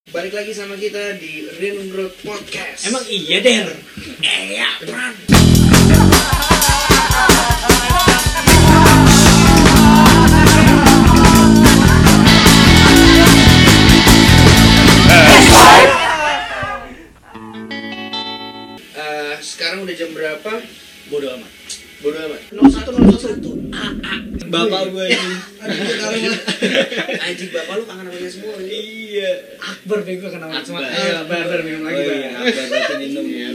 Balik lagi sama kita di Rin Road Podcast. Emang iya Der? Ya, Pran. Sekarang udah jam berapa? Bodoh amat. Bodo amat. 0101. Bapak gue ini. Anjing bapak lu kangen sama dia semua. Iya. Akbar bego kena nama semua. Akbar. Ayo, bar minum lagi, Oh Bar. iya, Akbar berarti minum ya.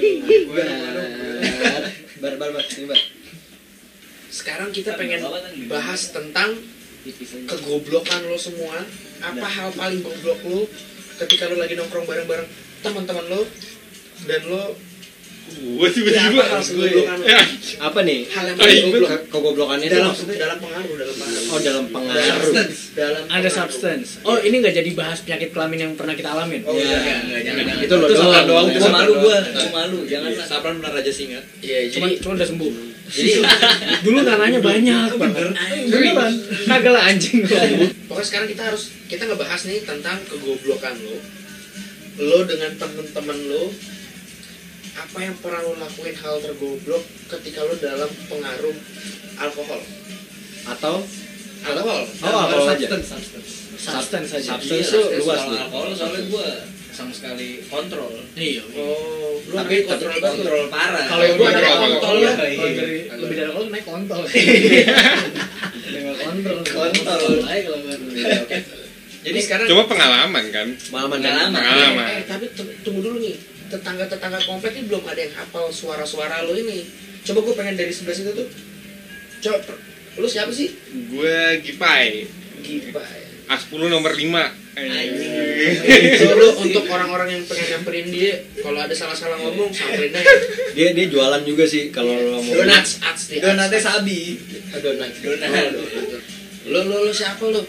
Bar. Sekarang kita pengen bahas tentang kegoblokan lo semua. Apa hal paling goblok lo ketika lo lagi nongkrong bareng-bareng teman-teman lo dan lo Gue tiba-tiba hal kegoblokan lo? Apa nih? Hal yang paling goblok Kegoblokannya itu maksudnya dalam pengaruh. Oh, dalam pengaruh. Dalam Ada substance. Oh, ini nggak jadi bahas penyakit kelamin yang pernah kita alamin. Oh, Ya, jangan. itu lo Sapran doang. Gua malu gua. malu. Jangan lah. Sapran benar aja singa. Iya, Cuma udah sembuh. jadi Dulu tanahnya banyak banget. Beneran. Kagak lah anjing. pokoknya sekarang kita ngebahas nih tentang kegoblokan lo. Lo dengan temen-temen lo, apa yang pernah lo lakuin hal tergoblok ketika lo dalam pengaruh alkohol? Atau Alkohol? alkohol aja. Substance saja. Substance itu luas Kalau nih. alkohol soalnya gue sama sekali kontrol. Iya. Oh, lo Tapi kontrol banget. Kontrol parah. Kalau yang Gua gua ada ada kontol kontol ya. ya. Kalau dari lebih dari kontol naik kontol. Dengan kontol. Kontol. Ayo kalau gua. Oke. Jadi sekarang Cuma pengalaman kan. Pengalaman. tapi tunggu dulu nih. Tetangga-tetangga komplek ini belum ada yang hafal suara-suara lo ini. Coba gue pengen dari sebelah situ tuh. Coba, lo siapa sih? Gue Gipai. Gipa ya. A10 nomor 5. So, lo untuk orang-orang yang pengen nyamperin dia, kalau ada salah-salah ngomong, samperin aja. Dia jualan juga sih kalau lo mau. Donuts, ats. Donatnya sabi. Donat. Lo siapa lo?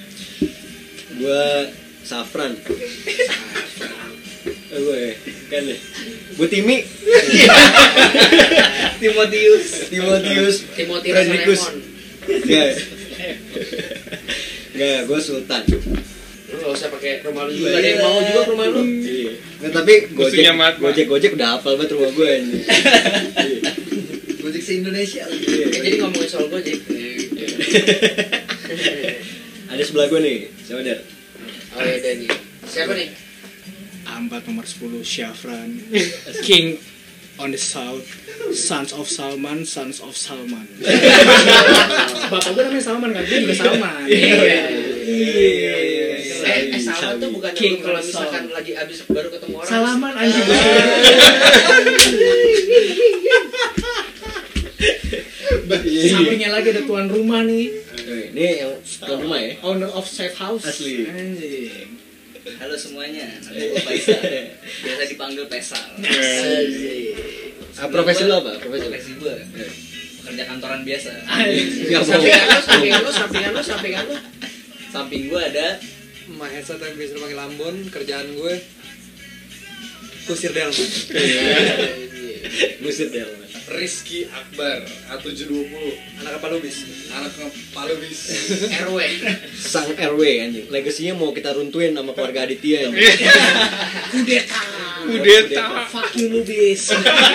Gua Safran. Gue kan deh. Bu Timi. Timotius Timothy Frederikus. Rasalemon. Enggak, gue Sultan. Lo gak usah pakai rumah lu juga. Ada yang mau juga ke rumah lu? Iya. Nggak, tapi Musuhnya Matma. Gojek udah hafal banget rumah gue ini. Gojek se-Indonesia. Jadi ngomongin soal Gojek. Ada sebelah gue nih, siapa Der? Oh ya nih. Siapa nih? Ambat nomor 10 Syafran. King on the South. Sons of Salman. Bapak gue namanya Salman kan, gue juga Salman. Iya. Iya. Salman tuh bukan King kalau on the misalkan South. lagi abis baru ketemu orang. Salaman anjing. Sampingnya lagi ada tuan rumah nih. Ini yang tuan rumah ya? Owner of safe house. Asli. Anjing. Halo semuanya. Nama gue Faisal. Biasa dipanggil Pesal. Profesi lo apa? Profesi gue. Pekerja kantoran biasa. Nggak mau. Sampingan lu. Samping gue ada Mahesa tapi bisa pakai Lambon, kerjaan gue kusir delman. Buset ya lo. Rizky Akbar, A720, anak apa bis? Anak Palu bis. RW. Sang RW anjing. Legasinya mau kita runtuhin sama keluarga Aditya ini. Kudeta. Fuck you Lubis.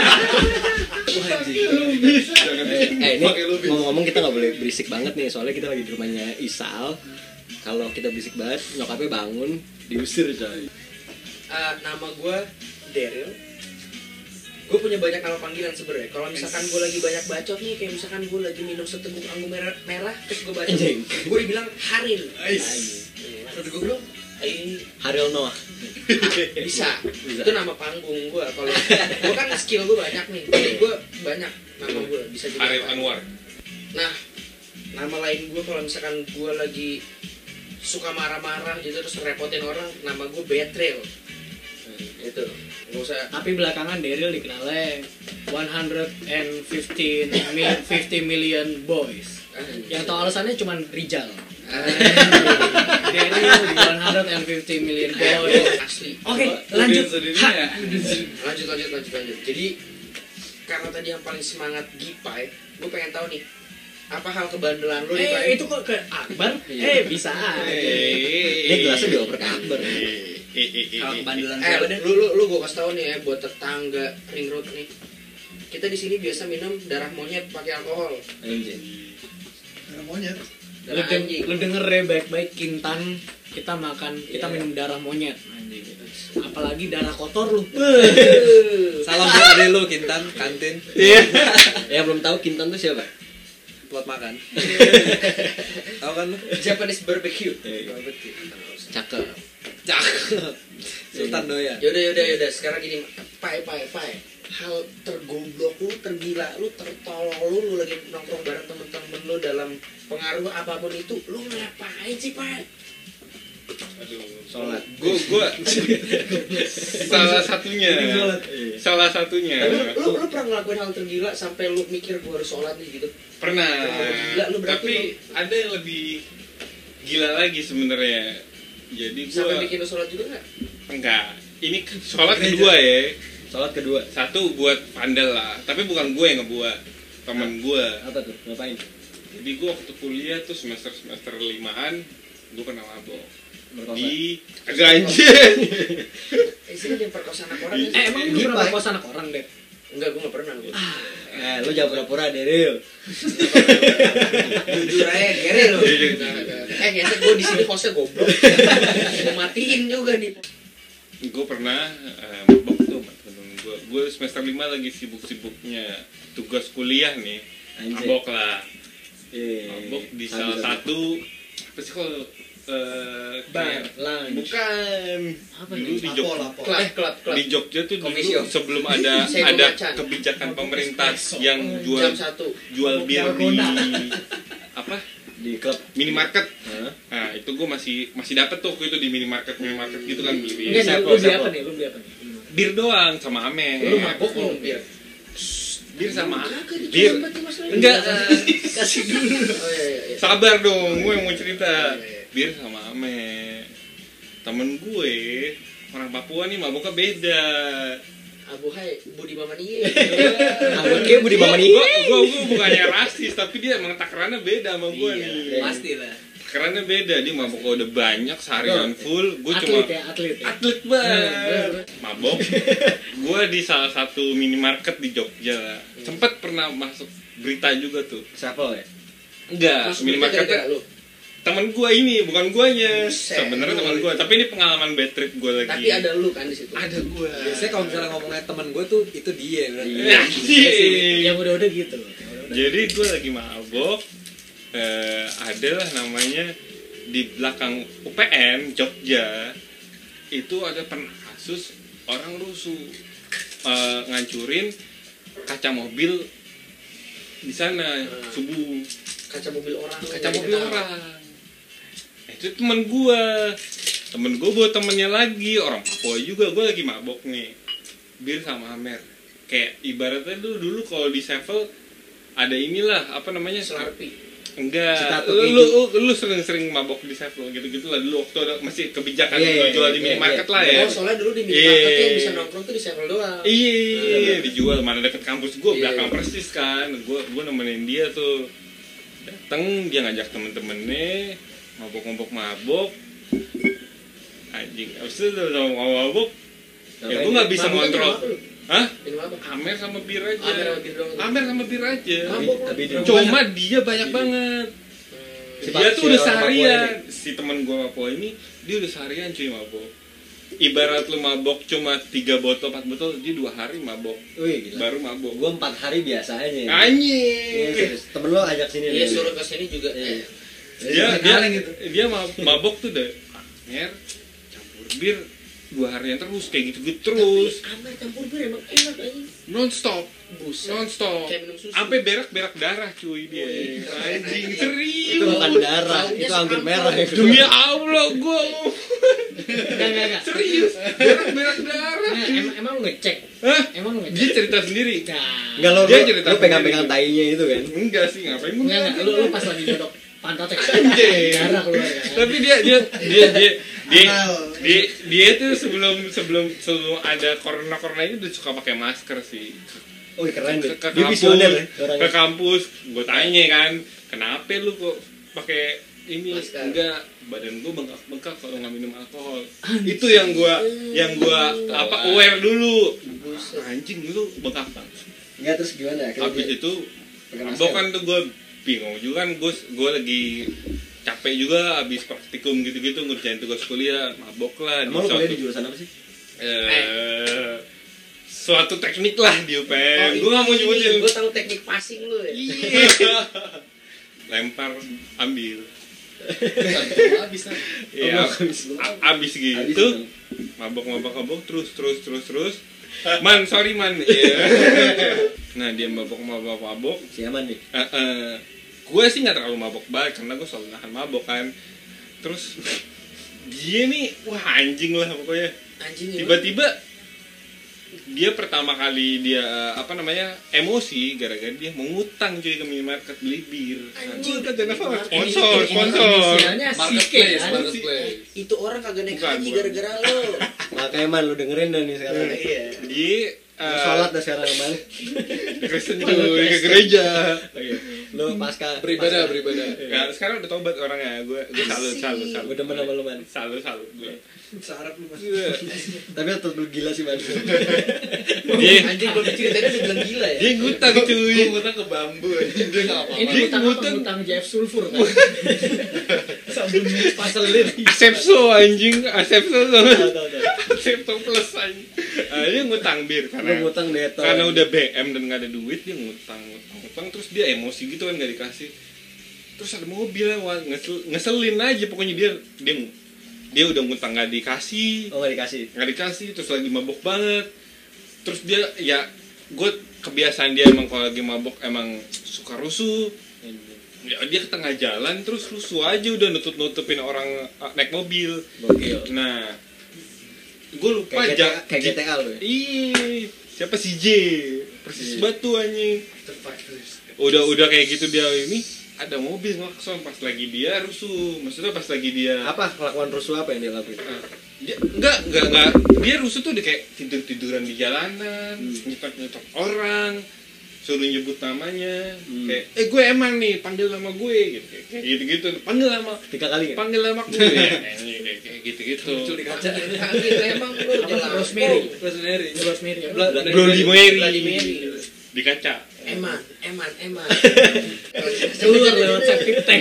Ini ngomong-ngomong kita nggak boleh berisik banget nih, soalnya kita lagi di rumahnya Isal. Kalau kita berisik banget, nyokapnya bangun, diusir coy. Nama gue Daryl. Gue punya banyak nama panggilan sebenarnya. Kalau misalkan gue lagi banyak bacot nih, kayak misalkan gue lagi minum seteguk anggur merah, terus gue bacot, Anjing. gue dibilang Harin. Terus gue bilang, Haril Noah. Bisa. Itu nama panggung gue. Kalau gue kan skill gue banyak nih, jadi gue banyak nama gue bisa jadi. Arif apa. Anwar. Nah, nama lain gue kalau misalkan gue lagi suka marah-marah gitu terus repotin orang, nama gue Betrayal. Itu nggak usah. Tapi belakangan Daryl dikenalnya 150 million boys. Yang tahu alasannya cuma Rijal. Daryl di 150 million boys. Asli. Oke, lanjut. Lanjut. Jadi karena tadi yang paling semangat Gipai, gue pengen tahu nih, apa hal kebandelan lu nih, Itu kok ke Akbar? Bisa aja. Ini gelasnya dioper ke Akbar. Kalau kebandelan siapa deh? lu gua kasih tau nih ya buat tetangga ring road nih. Kita di sini biasa minum darah monyet pakai alkohol. Anjing. Darah monyet. Darah anjing. Lu denger ya baik-baik Kintan, kita minum darah monyet. Anjing. Apalagi darah kotor lu. Salam buat adek lu Kintan, kantin. Iya. Yang belum tahu Kintan tuh siapa? Buat makan. Tahu kan lu? Japanese barbecue. Barbecue. Cakep. Cakep. Sultan Doya. Yaudah. Sekarang gini, Pai. Hal tergoblok lu, tergila lu, tertolol lu lagi nongkrong bareng temen-temen lu dalam pengaruh apapun itu, lu ngapain sih, Pai? Aduh, Sholat. Gua salah satunya. Tapi lu pernah ngelakuin hal tergila sampai lu mikir gua harus sholat nih gitu? Pernah. Gila, lu berarti Tapi ada yang lebih gila lagi sebenarnya. Jadi sampai gua bikin lu sholat juga nggak? enggak. Ini sholat kedua ya. Sholat kedua. Satu buat vandal lah, tapi bukan gue yang ngebuat, temen gue. Apa tuh? Ngapain? Jadi gue waktu kuliah tuh semester 5-an, gue pernah mabok Berkosa. di agak anjir. Sini dia perkosa anak orang. Emang lu Gipa. pernah perkosa anak orang, Dek? Enggak, gua nggak pernah gua. Lu jangan pura-pura deh, Ril. Jujur aja, gere lu. Ngeset gua di sini hostnya goblok. Mau matiin juga nih. Gue pernah mabok tuh sama temen gue. Gue semester 5 lagi sibuk-sibuknya tugas kuliah nih. Anjir. Mabok lah. Iya. Mabok di Habis, salah habis. satu apa sih kalau Bar, lounge. bukan Apa dulu nih? di Jogja. Klub. Di Jogja tuh dulu Coffee shop. sebelum ada Saya ada macan. kebijakan pemerintah yang Jam 1. jual bir di apa Di klub. minimarket. Hah? Nah itu gue masih dapet tuh waktu itu di minimarket gitu kan beli bir. Enggak, lu beli apa nih? Lu beli apa nih? Bir doang sama Ame. Lu mabok minum bir. Bir sama Kagak bir. dicoba tuh, Mas. Enggak. Kasih dulu. Oh iya. Sabar dong, gue yang mau cerita. Iya. Bir sama Ame. Temen gue orang Papua nih maboknya beda. Abu Hai, Budi Maman iya. Oke, Budi Maman ini. Gue bukannya rasis, tapi dia emang takarannya beda sama gue Iya. nih. Pastilah. Takarannya beda, dia mabok udah banyak seharian full. Gue cuma Atlet ya. atlet banget. Mabok. Gue di salah satu minimarket di Jogja. Sempet pernah masuk berita juga tuh. Siapa ya? Enggak, Masuk minimarketnya gara-gara lu. temen gue ini, bukan guanya. Buset. Sebenarnya temen gue, tapi ini pengalaman bad trip gue lagi. Tapi ada lu kan di situ. Ada gue. Biasanya kalau misalnya ngomongnya teman gue tuh itu dia berarti. Iya sih. Yang udah gitu. Jadi gue lagi mabok. Adalah namanya di belakang UPN Jogja itu ada pernah kasus orang rusuh ngancurin kaca mobil di sana subuh. Kaca mobil orang. Kaca mobil orang. Itu temen gue buat temennya lagi orang Papua juga. Gue lagi mabok nih bir sama Amer. Kayak ibaratnya dulu kalau di Sevel ada inilah apa namanya Slurpee. enggak Citato lu sering mabok di Sevel gitu lah dulu waktu ada masih kebijakan Iya, jual di iya, minimarket iya. lah ya. Oh, soalnya dulu di minimarket Iya. yang bisa nongkrong tuh di Sevel doang. Iya, dijual mana deket kampus gue Iya. belakang persis kan. Gue nemenin dia tuh. Dateng dia ngajak temen-temennya mabok. Anjing, abis itu udah mabok. Ya gue nggak bisa Mabok ngontrol. minum apa lu? Hah? Minum apa? Amer sama bir aja. Amer sama bir doang. Amer sama bir aja. Mabok. Tapi di Cuma dia banyak banget. Si Dia Pak- tuh si udah orang Papua seharian. Si temen gue Papua ini dia udah seharian cuy mabok. Ibarat lu mabok cuma 3 botol 4 botol, dia 2 hari mabok. Wih, gila. Baru mabok. Gua 4 hari biasa aja. Iya, Anjing. serius. Temen lo ajak sini Iya, deh. suruh ke sini juga. Iya. Dia mabok tuh deh. Amer campur bir 2 harian terus kayak gitu terus. Amer campur bir emang enak aja. Non-stop. Buset. Non-stop. Kayak minum susu. Sampai berak darah cuy dia. Anjing serius. Itu bukan darah, itu anggur merah ya. Demi Allah gue Enggak. serius berak darah. Emang lu ngecek? Hah? Emang lu Dia ngecek? cerita sendiri. Enggak lo, Dia cerita lo pegang-pegang sendiri. tainya itu kan. Enggak sih ngapain gue Enggak. Lu pas lagi nyodok pantatnya. Anjing. Darah keluar kan. Tapi dia tuh sebelum ada corona ini udah suka pakai masker sih. Oh keren deh. Ke Dia visioner ya ke orangnya. kampus gue tanya kan kenapa lu kok pakai ini Laskar. enggak, badan gue bengkak-bengkak kalau nggak minum alkohol. Itu yang gua aware dulu. Buset. Anjing lu bengkak banget. Enggak, terus gimana? Akhirnya Habis dia itu pakai masker. mabok kan tuh gue bingung juga kan, gue lagi capek juga abis praktikum gitu-gitu ngerjain tugas kuliah, mabok lah. Emang lu kuliah di jurusan apa sih? Suatu teknik lah di UPM. Gue gak mau nyebutin. Gue tahu teknik passing lu ya. Iya. Lempar, ambil. Habis kan. Iya. Habis. Abis gitu. Habis. Mabok terus. Man, sorry man. Iya. Nah dia mabok. Siaman nih. Gue sih nggak terlalu mabok banget karena gue selalu nahan mabok kan. Terus dia nih, wah anjing lah pokoknya. Anjing ya. Tiba-tiba dia pertama kali dia emosi gara-gara dia mengutang cuy ke minimarket beli bir. Anjing. Sponsor. Inisialnya Marketplace, Sike, marketplace. Itu orang kagak naik Bukan, haji bukan. gara-gara lo. Makanya man, lu dengerin dah nih sekarang. Iya. Dia Lu sholat dah sekarang man. Kristen cuy ke gereja. Lu pasca Beribadah. Ya, sekarang udah tobat orangnya. Gue salut. Gue demen sama lu man. Salut gue. Sarap lu mas. Tapi tetep lu gila sih man. Dia Anjing kalau diceritain udah bilang gila ya. dia ngutang cuy. Gue ngutang ke bambu aja. Dia nggak apa-apa. Ini Dia utang apa? ngutang. Utang JF Sulfur kan? Sabun paselin. Asepso anjing, Asepso Tahu. Asepso plus anjing. Dia ngutang bir Lu karena ngutang Deto. karena udah BM dan nggak ada duit, dia ngutang terus dia emosi gitu kan, nggak dikasih. Terus ada mobil lewat, ngeselin aja pokoknya dia udah ngutang nggak dikasih, Oh, enggak dikasih. terus lagi mabok banget. Terus dia ya, gue kebiasaan dia emang kalau lagi mabok emang suka rusuh. Ya, dia ke tengah jalan terus rusuh aja, udah nutupin orang naik mobil. Gokil. Nah, gue lupa Kayak GTA lu ya. Ih, siapa si J? Persis batu anjing. Udah kayak gitu dia ini ada mobil ngelakson pas lagi dia rusuh. Maksudnya pas lagi dia Apa kelakuan rusuh apa yang dia lakuin? dia enggak. Dia rusuh tuh dia kayak tiduran di jalanan, nyetok orang, suruh nyebut namanya, kayak gue emang nih, panggil nama gue gitu. Panggil nama 3 kali nggak? panggil nama gue ya. Kayak gitu. Muncul di kaca. Anjing emang lu jelas. Rosemary. Bloody Mary. Bloody Mary. Di kaca. Eman. Keluar lewat septic tank.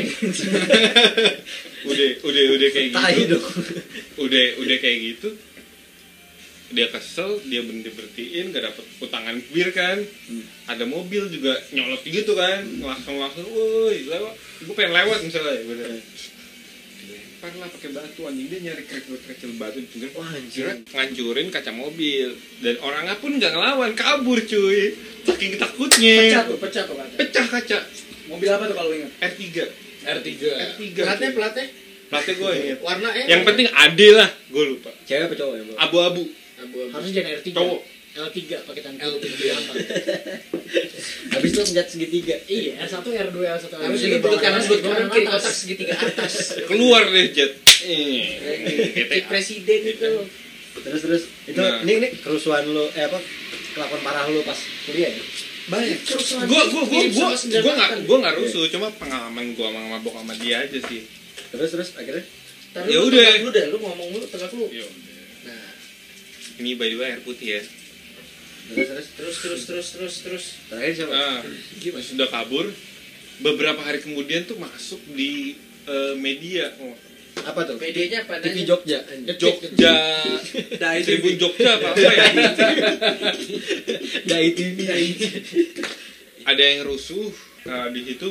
Udah kayak Tai gitu. dong. Udah kayak gitu. Dia kesel, dia berhentiin, gak dapet utangan bir kan. Ada mobil juga nyolot gitu kan, langsung, woi lewat, gue pengen lewat misalnya, dilempar lah pakai batu, anjing dia nyari kerikil batu di pinggir, Wah, anjing. ngancurin kaca mobil, dan orangnya pun nggak ngelawan, kabur cuy, saking takutnya, Pecah tuh kaca. pecah kaca, Mobil apa tuh kalau ingat? R3, Platnya platnya gue inget, warna yang penting ade lah, gue lupa, Cewek apa cowok ya, Bro? abu-abu, Harusnya jangan R3. cowok. L3 pakai tanda L3. Habis itu senjat segitiga. Iya, R1, R2, L1, R2. Harus ini belut kanan, belut kanan, kiri kotak segitiga atas. Keluar deh jet. Kayak presiden itu. Terus itu Nah. ini kerusuhan lu kelakuan parah lu pas kuliah ya? Banyak. Gua nggak rusuh, cuma pengalaman gua sama mabok sama dia aja sih. Terus akhirnya Ya udah. Lu dah, lu ngomong lu tegak lu. Ya udah. Nah, Ini by the way air putih ya. terus. terakhir siapa? Nah, sudah kabur. Beberapa hari kemudian tuh masuk di media. Apa tuh? PD-nya apa? TV Jogja. Jogja, Tribun Jogja apa ya? Dai TV. Ada yang rusuh di situ.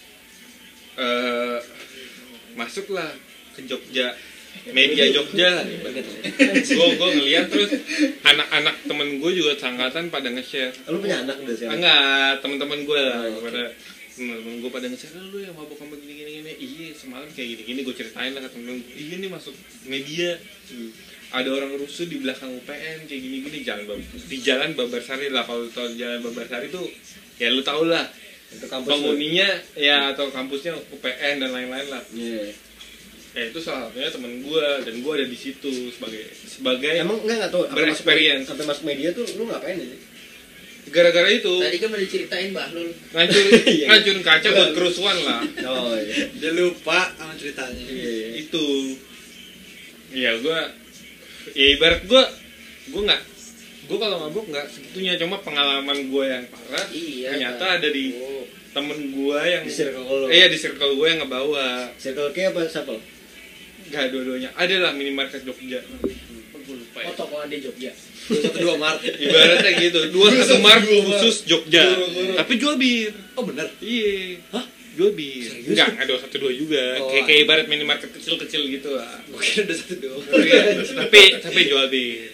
Masuklah ke Jogja, media Jogja. Gue ngeliat terus anak-anak temen gue juga seangkatan pada nge-share. Lu punya anak udah sekarang? Enggak, teman-teman gue lah Oh, oke. pada temen gue pada nge-share, lu yang mabok sama gini. Iya, semalam kayak gini gue ceritain lah ke temen gue. Iya nih masuk media. Ada orang rusuh di belakang UPN kayak gini di jalan Babarsari lah. Kalau tau jalan Babarsari tuh ya lu tau lah. Itu kampus. Penghuninya ya atau kampusnya UPN dan lain-lain lah. Iya. Itu salah satunya temen gue dan gue ada di situ sebagai Emang enggak tahu Berexperience. sampai masuk media tuh lu ngapain aja? gara-gara itu Tadi kan udah diceritain Bahlul. ngancurin kaca buat kerusuhan lah. Oh iya. Dia lupa sama ceritanya. Itu ya ya ibarat gue kalau mabuk nggak segitunya, cuma pengalaman gue yang parah Iya. ternyata kan. ada di Oh. temen gue yang Di circle lo. di circle gue yang ngebawa. Circle K apa siapa? Gak dua-duanya ada lah, minimarket Jogja. Gue lupa ya. Oh, toko di Jogja. 2 Maret. Ibaratnya gitu, 21 Maret khusus Jogja. Tapi jual bir. Oh bener. Iya. Hah? Jual bir. Enggak 212 juga. Oh, Kayak ibarat minimarket kecil-kecil gitu lah. Mungkin ada 1 doang. Tapi jual bir.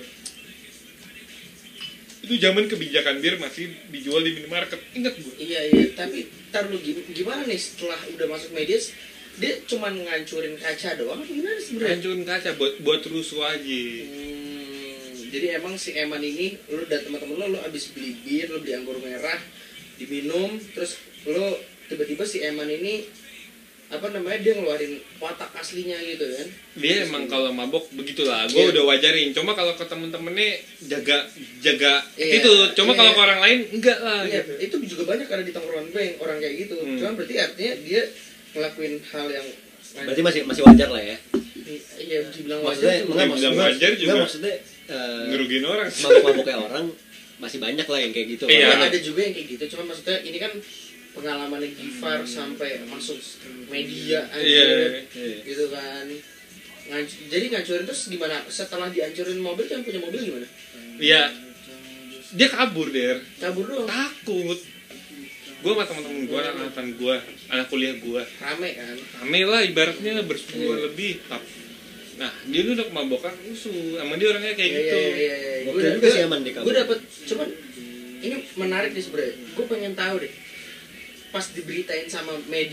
Itu zaman kebijakan bir masih dijual di minimarket. Ingat gue. Iya, tapi ntar lu gimana nih setelah udah masuk media, dia cuman ngancurin kaca doang apa gimana sebenarnya? Hancurin kaca buat rusuh aja. Jadi emang si Eman ini, lu dan teman-teman lu abis beli bir, lu beli anggur merah, diminum, terus lu tiba-tiba si Eman ini dia ngeluarin watak aslinya gitu kan. Dia emang kalau mabok begitulah. Gue udah wajarin. Cuma kalau ke temen-temennya jaga Iya, itu. Cuma kalau iya. ke orang lain enggak lah. Iya, Gitu. itu juga banyak ada di tongkrongan gue yang orang kayak gitu. Cuma berarti artinya dia ngelakuin hal yang Berarti masih wajar lah ya. iya dibilang Maksudnya wajar tuh. enggak Dibilang wajar juga. maksudnya Ngerugiin orang. mabuk-mabuknya orang masih banyak lah yang kayak gitu. Iya. Ada juga yang kayak gitu. Cuma maksudnya ini kan pengalamannya Gifar sampai masuk media Iya. gitu kan. Jadi ngancurin terus gimana? Setelah dihancurin mobil, yang punya mobil gimana? Iya. Dia kabur, Der. Kabur doang. Takut. Gue sama teman-teman gue, anak-anak gue, anak kuliah gue. Rame kan. Rame lah ibaratnya bersepuluh lebih. Nah, dia udah kemabokan rusuh. Emang dia orangnya kayak gitu. Iya. Gokil juga sih Eman di Gue dapet, cuman ini menarik nih sebenarnya. Gue pengen tahu deh. Pas diberitain sama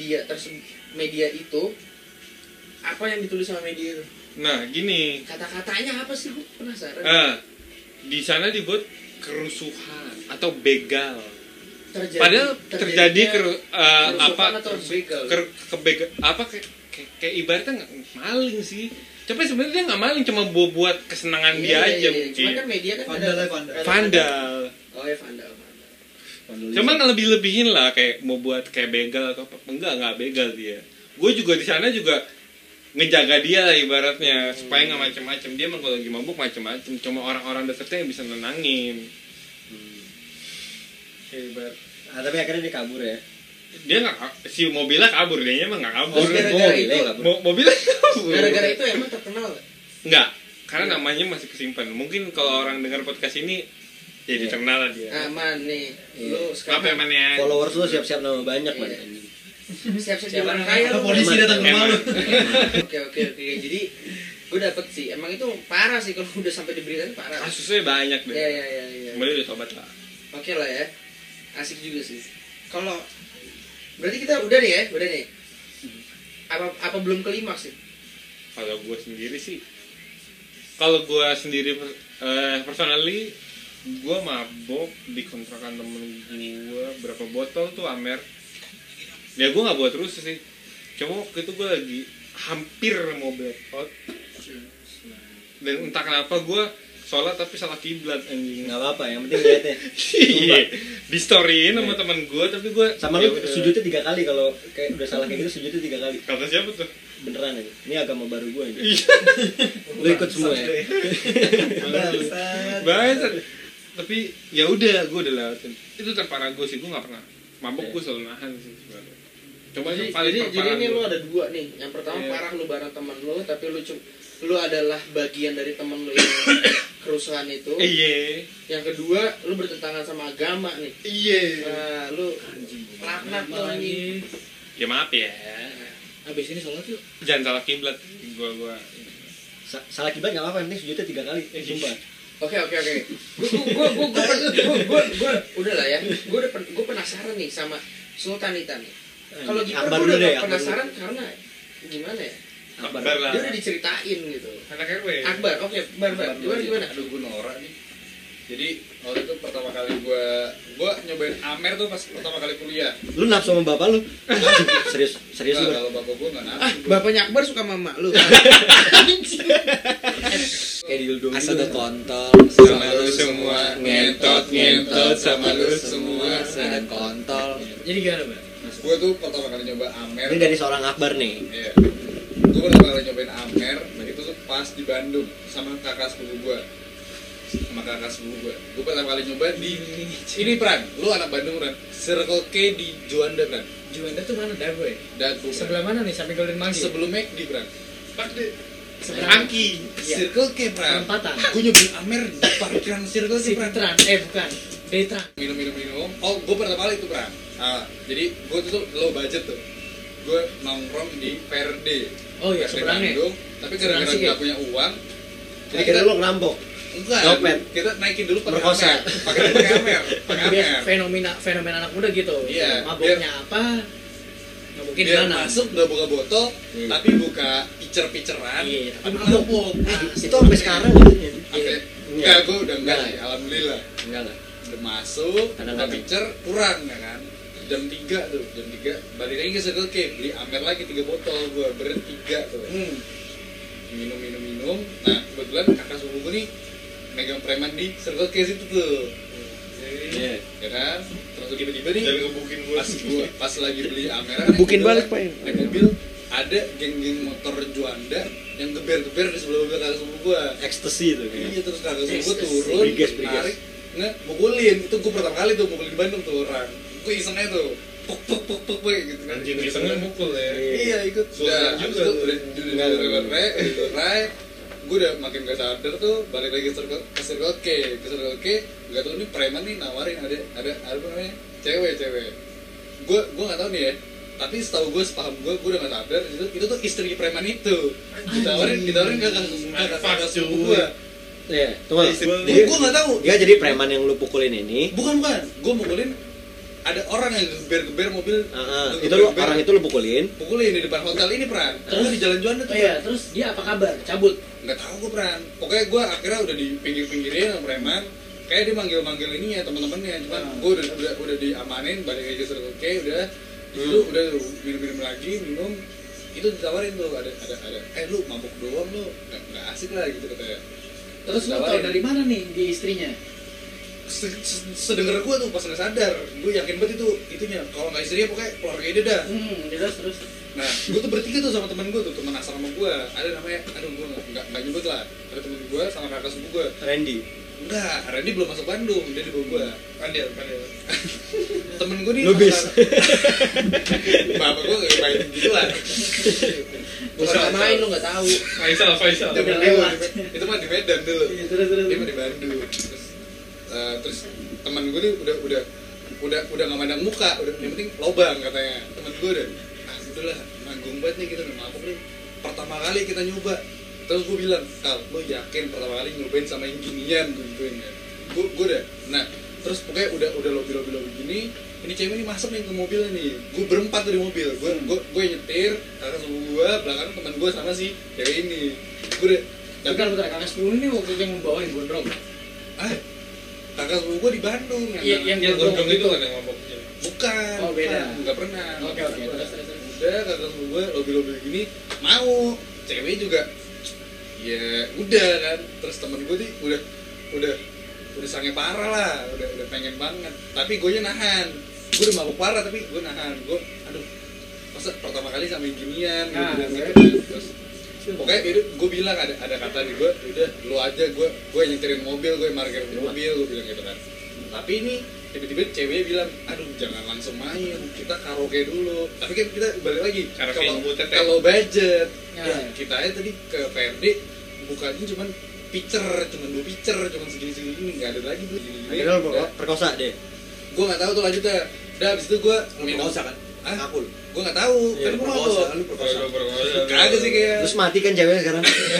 media itu, apa yang ditulis sama media itu? Nah, gini. Kata-katanya apa sih? Gue penasaran. Di sana dibuat kerusuhan atau begal. Padahal terjadi kerusuhan atau begal? Kebegal apa kayak ibaratnya nggak maling sih. Tapi sebenarnya dia nggak maling, cuma buat kesenangan dia aja mungkin. Cuman kan media kan Vandal. Oh ya vandal. Cuman lebih-lebihin lah, kayak mau buat kayak begal atau apa. Enggak begal dia. Gue juga di sana juga ngejaga dia lah ibaratnya supaya nggak macem-macem. Dia emang kalau lagi mabuk macem-macem. Cuma orang-orang deketnya yang bisa nenangin. Hebat. Tapi akhirnya dia kabur ya. Dia nggak, si mobilnya kabur, dia emang nggak kabur. Oh, gara-gara itu. Mobilnya kabur. Gara-gara itu emang terkenal gak? Enggak, karena namanya masih kesimpan. Mungkin kalau orang dengar podcast ini jadi terkenal lah dia. Aman nih. Lu Apa sekarang emangnya? Followers lu siap-siap nama banyak man. siap-siap di orang kaya lu. Polisi datang ke rumah lu. Oke. Jadi gue dapet sih. Emang itu parah sih kalau udah sampai diberitain parah. Kasusnya banyak deh. Iya. Kemudian udah tobat lah. Oke lah ya. Asik juga sih. Kalau berarti kita udah nih. Apa belum klimaks sih? Kalau gue sendiri sih, personally, gue mabok di kontrakan temen gue berapa botol tuh Amer. Ya gue nggak buat terus sih. Cuma waktu itu gue lagi hampir mau blackout. Dan entah kenapa gue sholat tapi salah kiblat anjing. Nggak apa-apa, yang penting lihat ya. Iya. Di storyin sama teman gue tapi gue Sama lu sujudnya 3 kali kalau kayak udah salah kayak gitu sujudnya 3 kali. kata siapa tuh? Beneran aja. Ini agama baru gue aja. Iya. Lu ikut semua ya. Bangsat. Tapi ya udah gue udah lewatin. Itu terparah gue sih, gue nggak pernah mabok. Gue selalu nahan sih sebenarnya. Coba itu paling Jadi terparah ini lu gua. ada 2 nih. Yang pertama Iya. parah lu bareng teman lu, tapi lu adalah bagian dari teman lu yang kerusuhan itu. Iya. Yang kedua, lu bertentangan sama agama nih. Iya. Nah, lu laknat lu anjing. Ya maaf ya. Habis ini sholat yuk. Jangan salah kiblat. Gua Salah kiblat nggak apa-apa, yang penting sujudnya 3 kali. Sumpah. Oke. Gue udah lah ya. Gue penasaran nih sama Sultanita nih. Kalau gitu Akbar gue dulu udah deh, gak Akbar penasaran karena gimana ya? Akbar lah. Dia udah diceritain gitu. Anak RW. Akbar, oke, Bar. Gimana? Aduh, gue norak nih. Jadi waktu itu pertama kali gue nyobain Amer tuh pas pertama kali kuliah. Lu nafsu sama bapak lu? Serius lu. Kalau bapak gue nggak nafsu. Bapaknya Akbar suka mama lu. Kayak dildo asal gitu. ada kontol Sama lu semua ngentot sama lu semua. ada kontol. Jadi gimana, Bang? Gue tuh pertama kali nyoba Amer. Ini dari seorang Akbar nih. Iya. Gue pertama kali nyobain Amer, itu tuh pas di Bandung sama kakak sepupu gue. Gue pertama kali nyoba di ini Pran, lu anak Bandung Pran. Circle K di Juanda Pran. Juanda tuh mana Dago ya? Dago. Pran. Sebelah mana nih? Samping Golden Monkey. Sebelum McD Pran. Angki. Circle K Pran. Perempatan. Gue nyobain Amer di parkiran Circle K Pran. Citran. Bukan. Detran. Minum. Oh, gue pertama kali itu Pran. Jadi gue tuh low budget tuh. Gue nongkrong di PRD. Oh iya, PRD seberangnya. Bandung. Tapi gara-gara Seberang sih, nggak punya uang, Jadi kira lu ngerampok. enggak, Dompet. kita naikin dulu pakai Merkosa. Amer. Pakai Amer. Biar fenomena anak muda gitu. Iya, Maboknya apa? Nggak mungkin di Biar mana. masuk nggak buka botol, Iya. tapi buka picer-piceran. Iya, tapi tapi mabok. mabok. Itu sampai sekarang gitu. Sampai Iya. enggak, gue udah enggak Enggak. sih, alhamdulillah. Enggak. Udah masuk, buka Kadang-kadang. picer, kurang ya kan. Jam 3 tuh, jam 3 balik lagi ke Circle K, beli Amer lagi 3 botol, gue bertiga tuh. Minum. Nah, kebetulan kakak sepupu gue nih megang preman di Circle K situ tuh. Iya. Ya kan? Terus tiba-tiba nih Jangan ngebukin gue. pas lagi beli Amer Gebukin balik, Pak. naik mobil ada geng-geng motor Juanda yang geber-geber di sebelah mobil kakak sepupu gue. Ekstasi itu Iya, kayaknya. terus kakak sepupu gue Ekstasi. turun, Briges. narik, mukulin. Itu gue pertama kali tuh mukulin di Bandung tuh orang. Gue isengnya tuh, puk gitu kan. Anjing isengnya mukul ya. Iya, ikut. Sultan Udah, juga abis itu tuh. udah rai. Gue udah makin gak sadar tuh, balik lagi ke Circle K. Gak tau nih preman nih nawarin ada apa namanya, cewek. Gue nggak tahu nih ya. Tapi setahu gue, sepaham gue udah gak sadar itu tuh istri preman itu. Ditawarin kakak sepupu gue. Iya. Tunggu. Gue nggak tahu. Dia jadi preman yang lu pukulin ini. Bukan. Gue mukulin ada orang yang geber-geber mobil. Itu lu orang itu lu pukulin. Pukulin di depan hotel ini Pran. Terus di Jalan Juanda tuh. Oh iya, terus dia apa kabar? Cabut. Nggak tahu gue Pran. Pokoknya gue akhirnya udah di pinggir-pinggirin sama preman. Kayak dia manggil ini ya teman-temannya. Cuman gue udah diamanin, balik lagi ke Circle K, udah. Itu udah minum lagi, itu ditawarin tuh ada lu mabuk doang lu nggak asik lah gitu katanya. Terus lu tahu dari mana nih dia istrinya? Sedengar gue tuh pas nggak sadar, gue yakin banget itunya. Kalau nggak istrinya pokoknya keluarga dia dah. Terus. Nah, gue tuh bertiga tuh sama temen gue tuh, temen asrama gue. Ada namanya, aduh gue nggak nyebut lah. Ada temen gue sama kakak sepupu gue. Randy. Enggak, Randy belum masuk Bandung, dia di bawah gue. Pandil. Temen gue nih Lubis. bapak gue nggak main gitu lah. Bukan main lu nggak tahu. Faisal. Udah lewat. Itu mah di Medan dulu. Iya, terus. Dia mah di Bandung. Terus teman gue nih udah nggak mandang muka, udah yang penting lobang katanya. Temen gue udahlah nanggung banget nih kita udah mabuk nih. Pertama kali kita nyoba. Terus gue bilang, Kal, lo yakin pertama kali nyobain sama yang ginian gue gituin ya. Gue udah. Nah, terus pokoknya udah lobby gini. Ini cewek ini masuk nih ke mobilnya nih. Gue berempat tuh di mobil. Gue nyetir, kakak sepupu gue, belakang teman gue sama si cewek ini. Gue udah. Bentar, kakak sepupu ini waktu itu yang membawain gondrong. Kakak sepupu gue di Bandung. Iya, yang Gondrong itu kan yang maboknya. Bukan. Oh, beda. Nggak pernah. Oke, terus. Udah, kakak sepupu gue lobby gini mau. Cewek juga. Ya udah kan. Terus temen gue nih udah sange parah lah, udah pengen banget. Tapi gue nahan. Gue udah mabuk parah tapi gue nahan. Gue aduh, masa pertama kali sama yang ginian gitu kan. Terus pokoknya itu gue bilang ada kata di gue, udah lu aja, gue nyetirin mobil, gue parkir mobil, gue bilang gitu kan. Tapi ini tiba-tiba ceweknya bilang, aduh jangan langsung main, kita karaoke dulu. Tapi kan kita balik lagi kalau budget, ya kita aja tadi ke PRD bukannya cuman cuman 2 pitcher, cuman segini nggak ada lagi tuh gini-gini. Akhirnya lu perkosa deh. Gue nggak tahu tuh lanjutnya. Udah abis itu gue minum. Perkosa kan? Aku gue nggak tahu, kan gue mabuk. Kagak sih kayak. Terus mati kan ceweknya sekarang.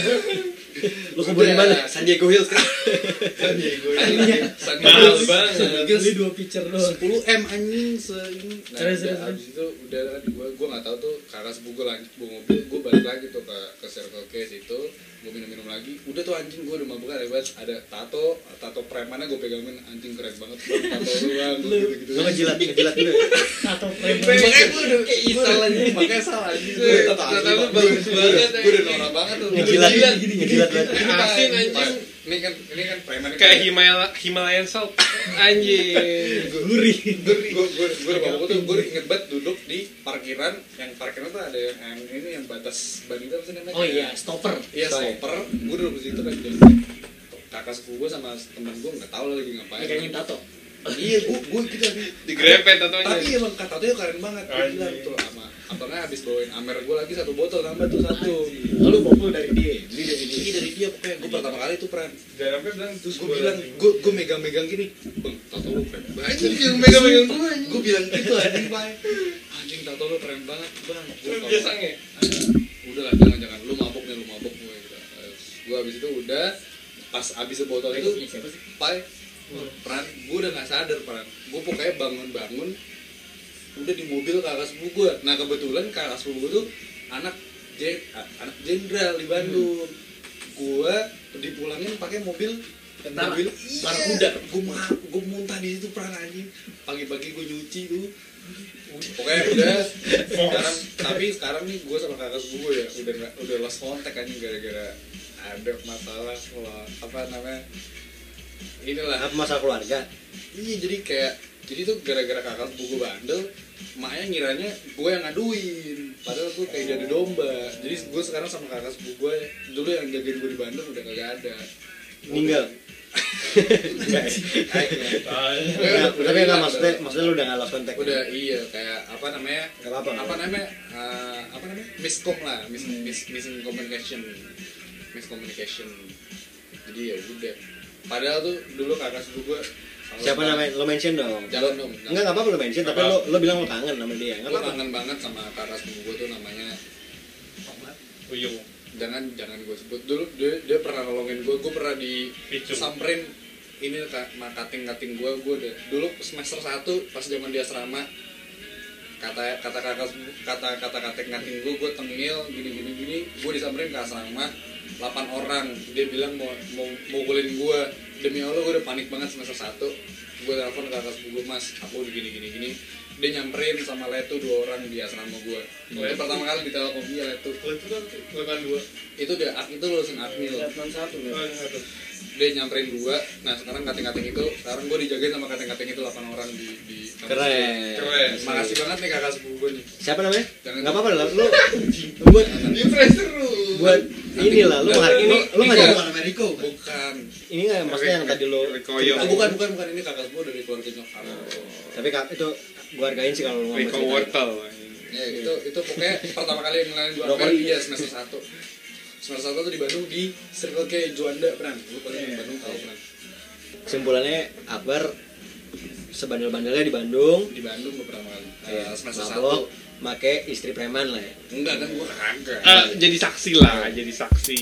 Lu kubur di mana? San Diego Hills kan. Mahal banget. Beli 2 pitcher doang. 10M anjing seini. Nah, Terus. abis itu udah kan gue nggak tahu tuh kakak sepupu gue lanjut bawa mobil, gue balik lagi tuh ke Circle K situ, gue minum lagi, udah tuh anjing gue udah mabuk hebat, ada tato premannya gue pegangin, anjing keren banget tato lu bang, gitu-gitu. Lu ngejilat dulu ya? Atau Makanya gue udah isal anjing, makanya salah anjing gue tato Tato lu bagus banget, gue udah norak banget tuh. Ngejilat banget. Asin anjing. Ini kan preman Kayak Himalayan salt. Anjing. Gurih. gue udah mabuk tuh, gue inget banget duduk di parkiran, yang parkiran tuh ada yang ini yang batas ban itu apa sih namanya? Oh iya, stopper. Iya stopper, gue duduk di situ kan dan kakak sepupu gue sama temen gue nggak tahu lagi ngapain. Megangin tato. Iya, gue gitu lagi. Digrepet tatonya. Tapi emang kata tuh keren banget. Gue bilang tuh sama abangnya habis bawain Amer gue lagi 1 botol nambah tuh 1. Lalu bobol dari dia. Iya dari dia pokoknya gue pertama kali tuh pran. Jangan sampai bilang Terus gue bilang, gue megang gini, bang, tato lu keren banget. Yang megang gue, gue bilang gitu anjing pak. Anjing tato lu keren banget bang. biasa nge. Udahlah jangan, lu mabok gue gitu. Gue abis itu udah pas abis botol itu, pai, pran, gue udah nggak sadar pran. Gue pokoknya bangun udah di mobil kakak sepupu gue. Nah kebetulan kakak sepupu gue tuh anak jenderal di Bandung. Gue dipulangin pakai mobil Barakuda. Gue muntah di situ pran anjing. Pagi-pagi gue nyuci tuh. Pokoknya udah sekarang nih gue sama kakak sepupu gue ya udah lost contact anjing gara-gara ada masalah inilah Apa masalah keluarga? iya jadi tuh gara-gara kakak sepupu gue bandel maknya ngiranya gue yang ngaduin padahal gue kayak jadi domba. Jadi gue sekarang sama kakak sepupu gue dulu yang jagain gue di Bandung udah kagak ada, Meninggal. Tapi enggak maksudnya lu udah enggak lost contact. udah iya kayak apa namanya Enggak apa-apa. miscom lah missing communication. Jadi ya udah padahal tuh dulu kakak sepupu gue Siapa namanya? Lo mention dong. Jangan dong. Enggak apa-apa lo mention, tapi lo bilang lo kangen sama dia. Enggak Gue apa-apa. kangen banget sama kakak sepupu gue tuh namanya Uyung. jangan gue sebut dulu dia pernah nolongin gue pernah disamperin ini kating gue udah dulu semester 1 pas zaman di asrama kata kating gue tengil gini gue disamperin ke asrama 8 orang dia bilang mau mukulin gue demi Allah gue udah panik banget semester 1 gue telepon kakak sepupu gue mas aku gini dia nyamperin sama Letu 2 orang di asrama gue. Itu pertama kali di Telkom dia Letu. Letu kan level 2. Itu lulusan Akmil. Letnan 1 ya. Dia nyamperin 2. Nah, sekarang kating-kating itu, sekarang gue dijagain sama kating-kating itu 8 orang di Keren. Makasih banget nih kakak sepupu gue nih. Siapa namanya? Jangan Enggak apa-apa lah. Lu buat buat inilah lu menghargai lu enggak bukan Ameriko. Bukan. ini enggak maksudnya yang tadi lu Rikoyo. Bukan ini kakak sepupu dari keluarga nyokap. tapi itu gua hargain sih kalau lu ngomong Riko cerita. wortel. Ya itu pokoknya pertama kali yang ngelain gue Akbar dia semester 1. Semester 1 tuh di Bandung di Circle K Juanda Pran. Lu paling di Bandung tahu Pran. Kesimpulannya Akbar sebandel-bandelnya di Bandung. Di Bandung pertama kali. Semester Mabok, 1. make istri preman lah ya. Enggak kan gue kagak. Jadi saksi lah, jadi saksi.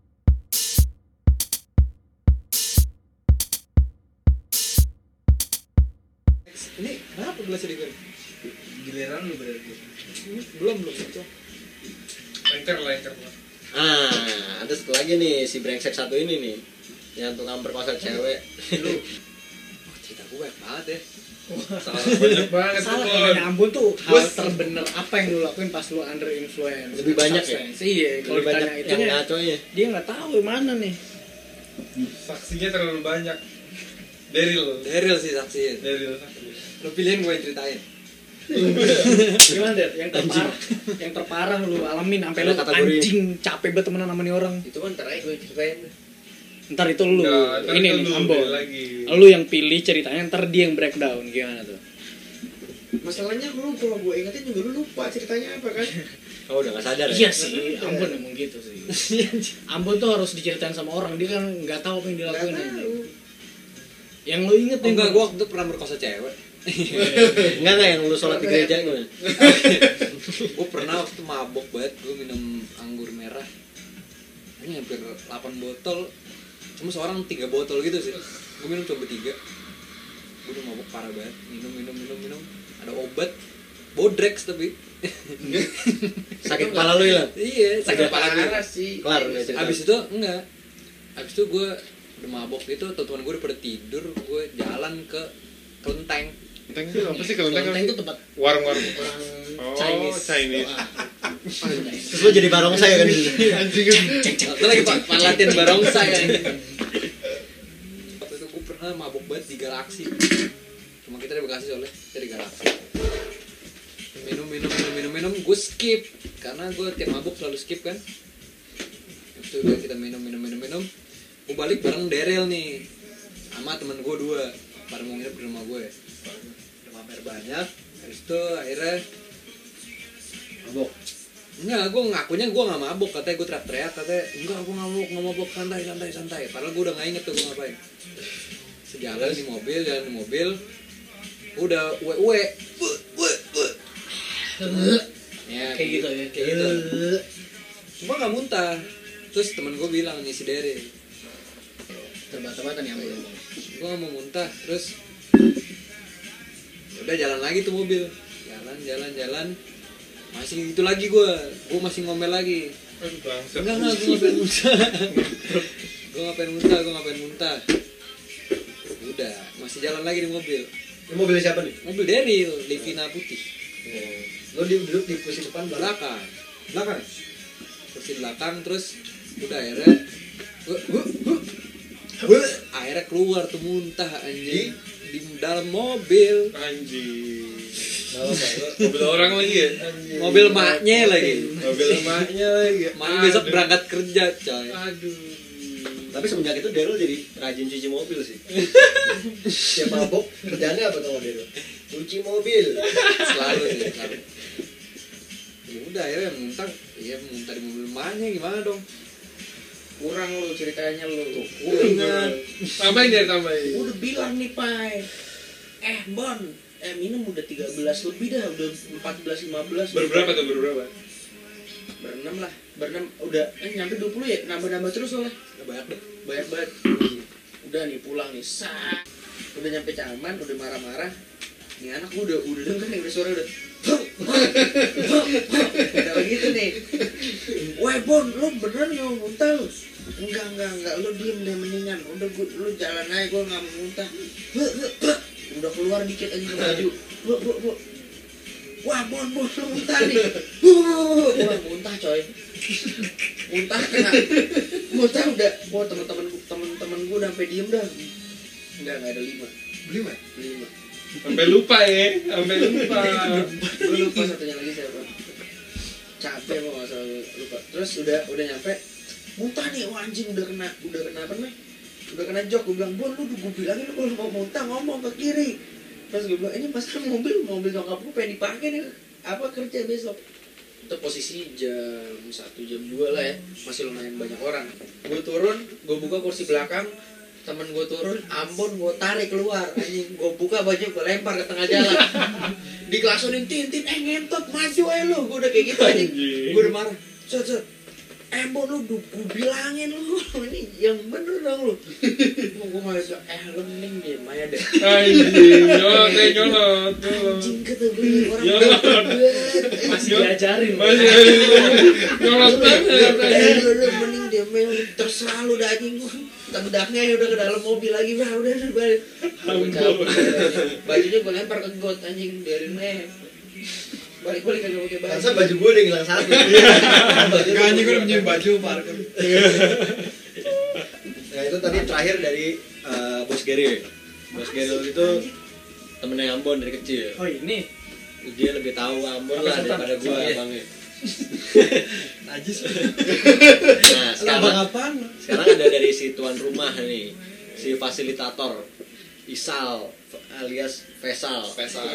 Ini kenapa gelasnya digoreng? Giliran lu berarti. Belum itu. Lengker. Ada satu lagi nih si brengsek satu ini nih yang tukang perkosa cewek. Cerita gue banyak banget ya. Banyak banget Salah tuh. ya Ambon tuh hal terbener apa yang lu lakuin pas lu under influence. Lebih banyak ya? Substance. Iya, kalau Lebih banyak ditanya yang itunya ngaconya. dia nggak tahu yang mana nih. Saksinya terlalu banyak. Daryl Sih saksinya. saksi. Lu pilihin gue yang ceritain. Gimana deh? Yang terparah lu alamin sampai lu Ada kategori. anjing capek banget temenan sama nih orang. Itu kan ntar aja gue ceritain. Ntar itu lu. Ntar Ini itu nih lu, Ambon. beda lagi. Lu yang pilih ceritanya ntar dia yang breakdown gimana tuh? Masalahnya lu kalau gue ingetin juga lu lupa ceritanya apa kan? Oh udah nggak sadar ya? Iya sih, Ambon emang gitu sih. Ambon tuh harus diceritain sama orang, dia kan nggak tahu apa yang dilakuin. Yang lu inget Oh enggak, gue waktu itu pernah merkosa cewek. Enggak yang lu sholat di gereja gimana? Gue pernah waktu itu mabok banget, gue minum anggur merah. Ini hampir 8 botol. Cuma seorang 3 botol gitu sih. Gue minum coba 3. Gue udah mabok parah banget. Minum. Ada obat. bodrex tapi Sakit kepala lu hilang. iya sakit kepala gue. Parah sih. Kelar udah cerita. Abis itu enggak. Abis itu gue udah mabok gitu, teman gue udah pada tidur, gue jalan ke kelenteng. Kelenteng itu apa sih kelenteng? Kelenteng itu tempat Warung-warung. orang Oh, Chinese. Chinese. Terus lu jadi barongsai kan? Itu lagi latihan barongsai kan. Waktu itu gue pernah mabok banget di Galaxy. Cuma kita di Bekasi soalnya, kita di Galaxy. Minum, gue skip karena gue tiap mabuk selalu skip kan. Itu udah kita minum. Gue balik bareng Daryl nih, sama temen gue 2, pada mau nginep di rumah gue. Udah mampir banyak, habis itu akhirnya mabok. Enggak, gue ngakunya gue nggak mabok, katanya gue teriak-teriak, katanya enggak gue nggak mabok, santai. Padahal gue udah nggak inget tuh gue ngapain. Sejalan di mobil, udah uwe. Ya, Kayak gitu ya. kayak gitu. Cuma nggak muntah. Terus temen gue bilang nih si Daryl, Terbata-bata nih ambil. gue nggak mau muntah. Terus udah jalan lagi tuh mobil, jalan, masih gitu lagi gue masih ngomel lagi. Enggak, gue ngapain muntah. Udah, masih jalan lagi di mobil. Ini mobil siapa nih? Mobil Daryl, Livina putih. Lo duduk di kursi depan Belakang. belakang. Kursi belakang, terus udah akhirnya akhirnya keluar tuh muntah anjing di dalam mobil. Anjing. Mobil orang lagi ya? Mobil maknya lagi. Mobil emaknya lagi. Maknya besok berangkat kerja, coy. Aduh. Tapi semenjak itu Daryl jadi rajin cuci mobil sih. Dia mabok, kerjanya apa tuh Daryl? Cuci mobil. Selalu. Ya udah akhirnya muntah di mobil maknya, gimana dong? Kurang lu ceritanya lu. Ingat. Tambahin. Udah bilang nih Pai. Bon, minum udah 13 lebih dah, udah 14-15. Berberapa tuh berberapa? Berenam lah, udah nyampe 20 ya, nambah terus soalnya. Banyak deh. Banyak banget. Udah nih pulang nih, udah nyampe Caman, udah marah-marah. Nih anak udah denger nih, udah suara udah udah begitu nih. Weh Bon, lu beneran gak mau muntah lu? Enggak, lu diem deh mendingan. Udah lu jalan aja, gue gak mau muntah. Udah keluar dikit aja ke baju. Bu. Wah Bon, lu muntah nih. Wah muntah coy. Muntah udah. Wah temen-temen gue udah sampai diem dah. Enggak ada 5. Sampai lupa. Gue lupa satunya lagi siapa. Capek mau nggak salah lupa. Terus udah nyampe. Muntah nih, wah anjing udah kena apa nih? Udah kena jok. Gue bilang Bon, gue bilangin lu kalau mau muntah ngomong ke kiri. Terus gue bilang ini masalah mobil nyokap gue pengen dipakai nih apa kerja besok. Itu posisi jam 1 jam 2 lah ya, masih lumayan banyak orang. Gue turun, gue buka kursi belakang, temen gue turun, Ambon gue tarik keluar, anjing gue buka baju gue lempar ke tengah jalan, dikelaksonin tin, ngentot maju aja lu, gue udah kayak gitu anjing, gue udah marah, set, Ambon lu, gue bilangin lu, ini yang bener dong lu, gue malah bilang, lu mending diem aja deh. Anjing, nyolot. Anjing kata gue orang Masih diajarin. Nyolot banget. lu mending diem aja, terserah lu dah anjing gue. Tendaknya udah ke dalam mobil lagi, udah balik. Bajunya gue lempar ke got anjing dari balik kagak pakai baju. Masa baju gue udah hilang satu. Gak anjing gue udah pinjem baju parkir. Nah itu tadi terakhir dari Bos Gary. Bos Gary itu temennya Ambon dari kecil. Oh ini. Dia lebih tahu Ambon lah daripada gue abangnya. Najis. Nah Abang apaan? sekarang ada dari si tuan rumah nih, si fasilitator Isal alias Faisal.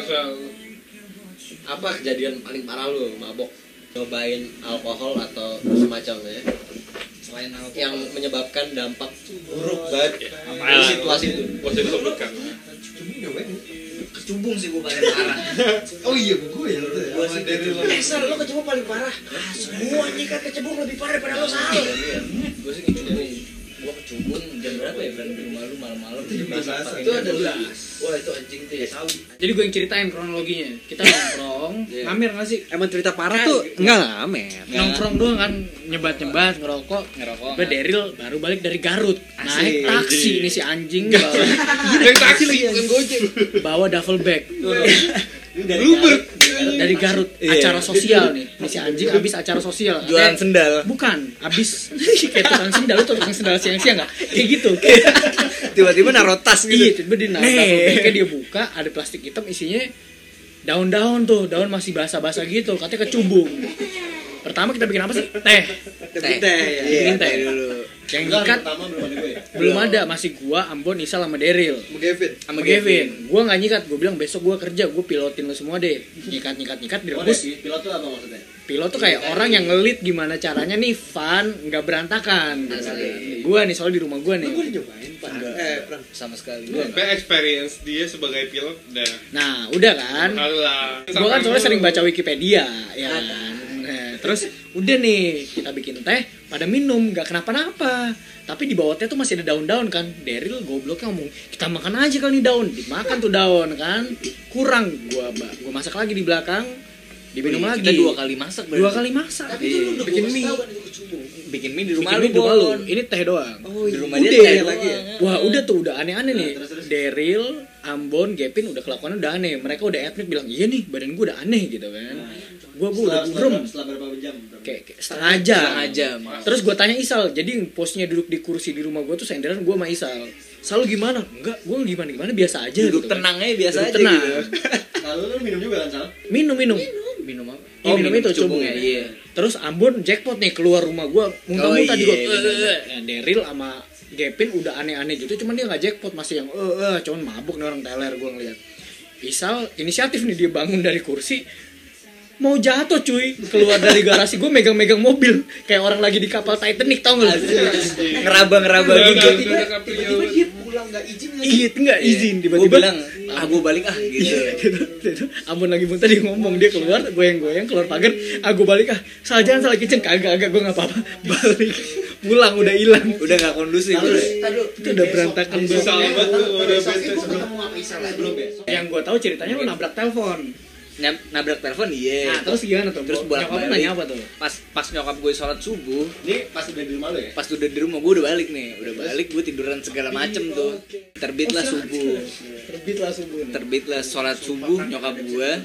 Apa kejadian paling parah lu mabok? Cobain alkohol atau semacamnya Selain alkohol yang menyebabkan dampak buruk banget di situasi itu. Bosnya disebutkan. Kecubung sih gue paling parah. Oh iya gue ya itu ya. Gua sih Dari lo. Sal, lo kecebur paling parah. Semua nih kan kecebur lebih parah daripada lo Sal. Gue sih kecubung. Gue kecubung jam berapa ya berantem di rumah lu malam-malam Itu adalah wah itu anjing tuh ya. Jadi gue yang ceritain kronologinya. Kita nongkrong, ngamer nggak sih? Emang cerita parah tuh enggak ngamer. Nongkrong doang kan, nyebat ngerokok. Gue Daryl baru balik dari Garut, naik taksi ini si anjing bawa, Naik taksi lagi bukan Gojek. bawa duffel bag Bluebird. dari Garut, acara sosial nih. Ini si anjing habis acara sosial. Jualan sendal. Bukan, habis kayak tukang sendal, lu tukang sendal siang-siang nggak? Kayak gitu. Tiba-tiba naruh tas Iya, gitu. tiba dia naruh duffel bagnya, dia buka, ada plastik hitam isinya daun-daun tuh, daun masih basah-basah gitu, katanya kecubung. Pertama kita bikin apa sih? Teh. Bikin teh dulu. Yang nyikat belum ada, masih gua, Ambon, Isal sama Daryl. Sama Gavin. Gua nggak nyikat, gua bilang besok gua kerja, gua pilotin lu semua deh. Nyikat direbus. Pilot tuh apa maksudnya? Pilot tuh kayak orang yang ngelit gimana caranya nih fun, nggak berantakan. Gua nih soal di rumah gua nih. Sama sekali. Sampai experience dia sebagai pilot udah Nah, udah kan? kalah. Gua kan soalnya sering baca Wikipedia, ya kan. Nah, terus udah nih kita bikin teh, pada minum nggak kenapa-napa. Tapi di bawah teh tuh masih ada daun-daun kan. Daryl gobloknya ngomong, kita makan aja kali nih daun. Dimakan tuh daun kan. Kurang, gua masak lagi di belakang. Diminum lagi. kita 2 kali masak berarti. 2 kali masak. Bikin mie. Bikin mie di rumah lu. Bikin mie di rumah lu. Ini teh doang. Di rumah Udah. dia teh lagi ya. Wah udah tuh udah aneh-aneh nih. Daryl, Ambon, Gavin udah kelakuannya udah aneh. Mereka udah admit bilang iya nih badan gue udah aneh gitu kan. Gue udah burem. Setelah berapa jam? Kayak setengah jam. Setengah jam. Terus gue tanya Isal, jadi posnya duduk di kursi di rumah gue tuh senderan gue sama Isal. Sal gimana? Enggak, gue gimana gimana biasa aja. Duduk gitu kan. tenang aja biasa Duduk aja tenang. gitu. Lalu lu minum juga kan, Sal? Minum. Minum apa? Minum itu cubung ya. Iya. Terus Ambon jackpot nih keluar rumah gue muntah-muntah di gue. bener. Daryl sama Gavin udah aneh-aneh gitu, cuman dia nggak jackpot, masih yang cuman mabuk nih orang teler gue ngeliat. Isal inisiatif nih, dia bangun dari kursi mau jatuh cuy, keluar dari garasi gue megang-megang mobil kayak orang lagi di kapal Titanic, tau nggak? Ngeraba-ngeraba gitu. Tiba-tiba dia pulang nggak izin lagi. Iya, nggak izin Gue tiba-tiba. bilang, gue balik gitu. Gitu. Ambon lagi muntah, dia ngomong, dia keluar goyang-goyang keluar pagar, gue balik salah jalan salah kitchen, kagak gue nggak apa-apa, balik pulang udah hilang, Udah enggak kondusif. itu udah berantakan banget. Sahabat tuh udah Besok bete gue semua. ketemu sama Isal lah, belum besok. Yang gue tahu ceritanya lu nabrak telepon. Nabrak telepon iya. Nah, terus gimana tuh? Terus Nyokap lu bolak-balik. nanya apa tuh? Pas nyokap gue sholat subuh, Ini pas udah di rumah lu ya? pas udah di rumah gue udah balik nih, gue tiduran segala macem tuh. Terbitlah subuh, terbitlah sholat subuh, nyokap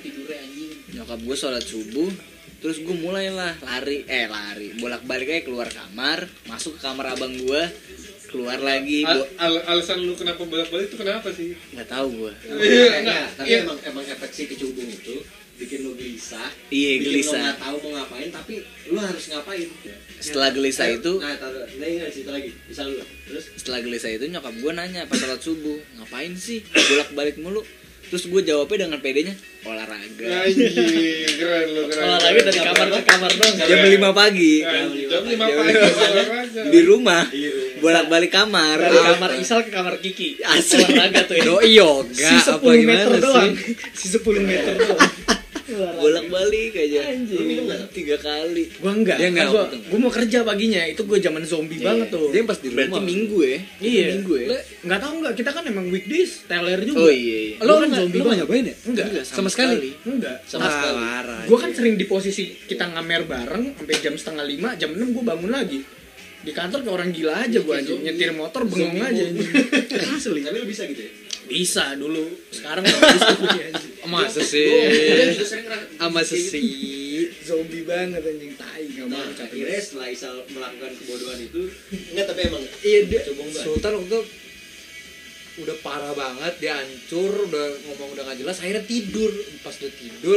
gue sholat subuh, terus gue mulailah lari, bolak-balik aja keluar kamar, masuk ke kamar abang gue, keluar lagi, Alasan lu kenapa bolak-balik itu kenapa sih? nggak tahu gue. Enggak, tapi emang efek si kecubung itu bikin lu gelisah. Iya, bikin gelisah. lu nggak tahu mau ngapain, tapi lu harus ngapain. Setelah gelisah itu, Nah, ingat cerita lagi. Misal lu, terus setelah gelisah itu nyokap gue nanya pas sholat subuh, ngapain sih bolak-balik mulu? Terus gue jawabnya dengan pedenya, olahraga. Anjing, keren lu, keren. Olahraga dari kamar ke kamar dong. Jam 5 pagi Jam 5 pagi olahraga. di rumah, bolak-balik kamar. Dari kamar Isal ke kamar Kiki. Asli. Olahraga tuh ya. Doi yoga Si 10 apa meter gimana doang. sih? Si 10 meter doang. Bolak-balik aja. 3 kali. Gua enggak. Dia enggak, Kan betul. gua mau kerja paginya. Itu gua zaman zombie banget tuh. Dia pas di rumah. Berarti minggu ya? Iya. Minggu ya? Enggak tahu enggak, kita kan emang weekdays teler juga. Oh iya. Lo kan zombie lu banget. nyobain ya? Enggak, sama sekali. Enggak. Sama sekali. Parah. Gue kan sering di posisi kita ngamer bareng sampai jam 4:30, jam 6 gue bangun lagi. Di kantor kayak orang gila aja gue anjing, nyetir motor bengong aja anjing. Asli. tapi lu bisa gitu ya? Bisa dulu. Sekarang enggak bisa gue anjing. Masa Gue sih? juga sering Sama sesi. Zombie banget anjing, tai enggak mau Nah, capek. akhirnya setelah Isal melakukan kebodohan itu, enggak, tapi emang Iya, dia kecubung banget. Sultan waktu itu udah parah banget, dia hancur, udah ngomong udah gak jelas, akhirnya tidur. Pas dia tidur,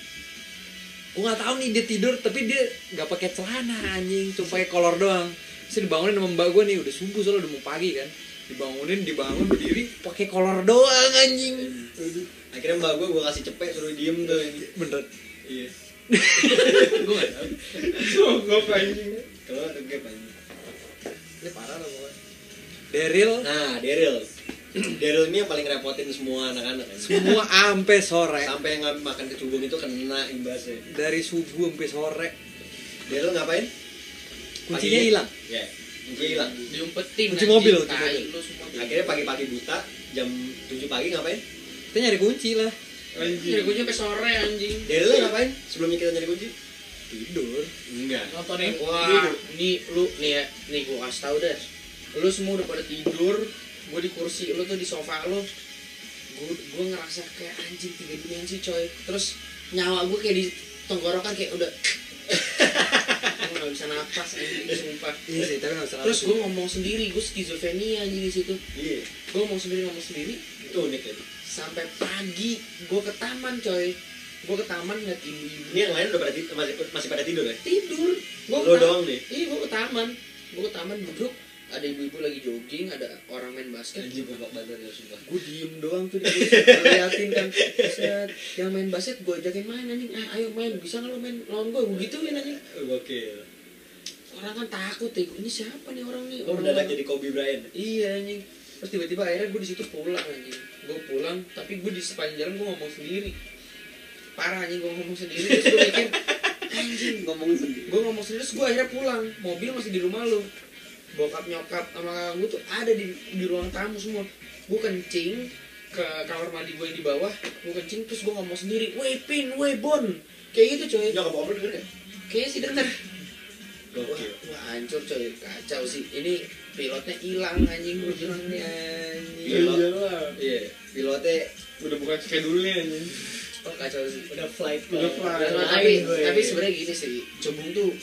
gue nggak tahu nih dia tidur, tapi dia nggak pakai celana anjing, cuma pakai kolor doang. Terus dibangunin sama mbak gue nih, udah subuh soalnya udah mau pagi kan, dibangun berdiri pakai kolor doang anjing. Akhirnya mbak gue kasih cepet suruh diem tuh. Bener. Iya. gue nggak tahu. Sogok anjing. Kalau ada gap anjing. Ini parah lah pokoknya. Daryl Nah, Daryl ini yang paling repotin semua anak-anak kan. semua ampe sore, Sampai yang makan kecubung itu kena imbasnya. dari subuh sampai sore. Daryl ngapain? Kuncinya hilang. Ya. Kunci hilang. Diumpetin. Kunci mobil, anjing, kunci tai mobil. lu semua. Akhirnya pagi-pagi buta jam 7 pagi ngapain? Kita nyari kunci lah. Nyari kunci sampai sore anjing. Dari lu ngapain? Sebelumnya kita nyari kunci? Tidur. Enggak. Nontonin. Wah, nih lu nih ya, nih gua kasih tau deh. Lu semua udah pada tidur, gua di kursi, lu tuh di sofa lu. Gua ngerasa kayak anjing 3 dimensi coy. Terus nyawa gua kayak di tenggorokan kayak udah gua nggak bisa napas anjing sumpah. Iya sih, tapi nggak bisa. Terus gua ngomong sendiri, gua skizofrenia anjing di situ. Iya. Gua ngomong sendiri Itu unik ya. sampai pagi. Gua ke taman coy. Gua ke taman ngeliat ibu-ibu Ini yang lain udah pada masih pada tidur ya? tidur. Lu doang nih. Iya, gua ke taman. Gua ke taman duduk, ada ibu-ibu lagi jogging, ada orang main basket. Anjing goblok banget ya sumpah. Gue diem doang tuh di kursi, gua liatin kan. Set, yang main basket gue ajakin main anjing. Ayo main, bisa nggak lo main lawan gue? Gue gituin anjing. Gokil. Orang kan takut ya, ini siapa nih orang nih? Lu mendadak jadi Kobe Bryant. Iya anjing. Terus tiba-tiba akhirnya gue di situ pulang anjing. Gue pulang, tapi gue di sepanjang jalan gue ngomong sendiri. Parah anjing, gue ngomong sendiri. Terus gue mikir, anjing Ngomong sendiri. gue ngomong sendiri. Terus gue akhirnya pulang, mobil masih di rumah lu. Bokap nyokap sama kakak gue tuh ada di ruang tamu semua. Gue kencing ke kamar mandi gue yang di bawah, gue kencing terus gue ngomong sendiri, weh Pin, weh Bon, kayak gitu coy. Nyokap bokap lu denger ya? Kayaknya sih denger. Wah, Gokil. wah hancur coy, kacau sih. Ini pilotnya hilang anjing, gue bilang nih anjing. Iya. Pilotnya Udah bukan schedule-nya anjing. Oh kacau sih. Udah flight. Udah flight. Tapi sebenarnya gini sih, cebung tuh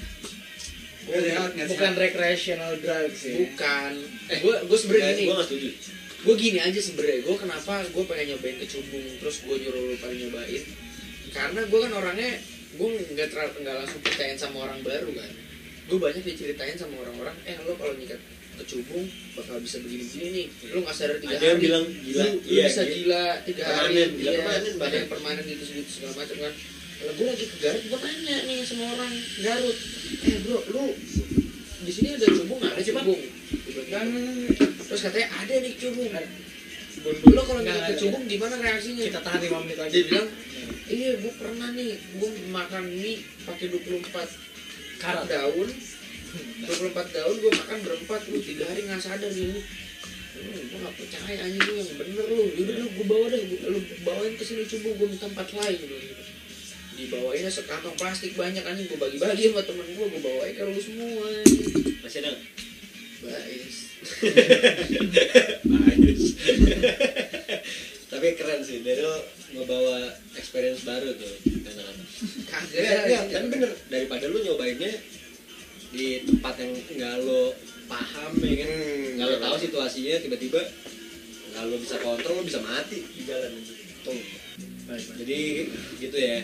Bukan recreational drugs ya. bukan. Gue sebenarnya gini. gue gak setuju. Gue gini aja sebenarnya, gue kenapa gue pengen nyobain kecubung, terus gue nyuruh lu pada nyobain, karena gue kan orangnya gue nggak langsung percayain sama orang baru kan. Gue banyak diceritain sama orang-orang, lo kalau nyikat kecubung bakal bisa begini-begini nih, lo nggak sadar 3 hari Ada yang bilang gila. lu Iya, bisa gila 3 hari, Permanen, gila iya, permanen, ada bahkan. yang permanen gitu segala macam kan. Kalau gue lagi ke Garut, gue tanya nih sama orang Garut, bro, lu di sini ada cubung nggak? Ada cubung. Terus katanya ada nih cubung. Lo kalau Nggak nggak ada. kecubung gimana reaksinya? Kita tahan 5 menit lagi. Dia bilang, iya gue pernah nih, gue makan mie pakai 24 Karat. daun, 24 daun gue makan berempat, lu 3 hari nggak sadar ini. Gue nggak percaya anjing, lu yang bener lu. Yaudah lu gue bawa deh, lu bawain ke sini cubung, gue minta 4 helai gitu. Dibawainnya sekantong plastik banyak anjing, gue bagi-bagi sama temen gue bawain ke lu semua. Masih ada nggak? Bais. Tapi keren sih, Daryl ngebawa experience baru tuh anak-anak. Kagak. Ya, tapi bener, daripada lu nyobainnya di tempat yang nggak lo paham ya kan, nggak lo tahu situasinya, tiba-tiba nggak lo bisa kontrol, lo bisa mati di jalan tuh. Jadi gitu ya.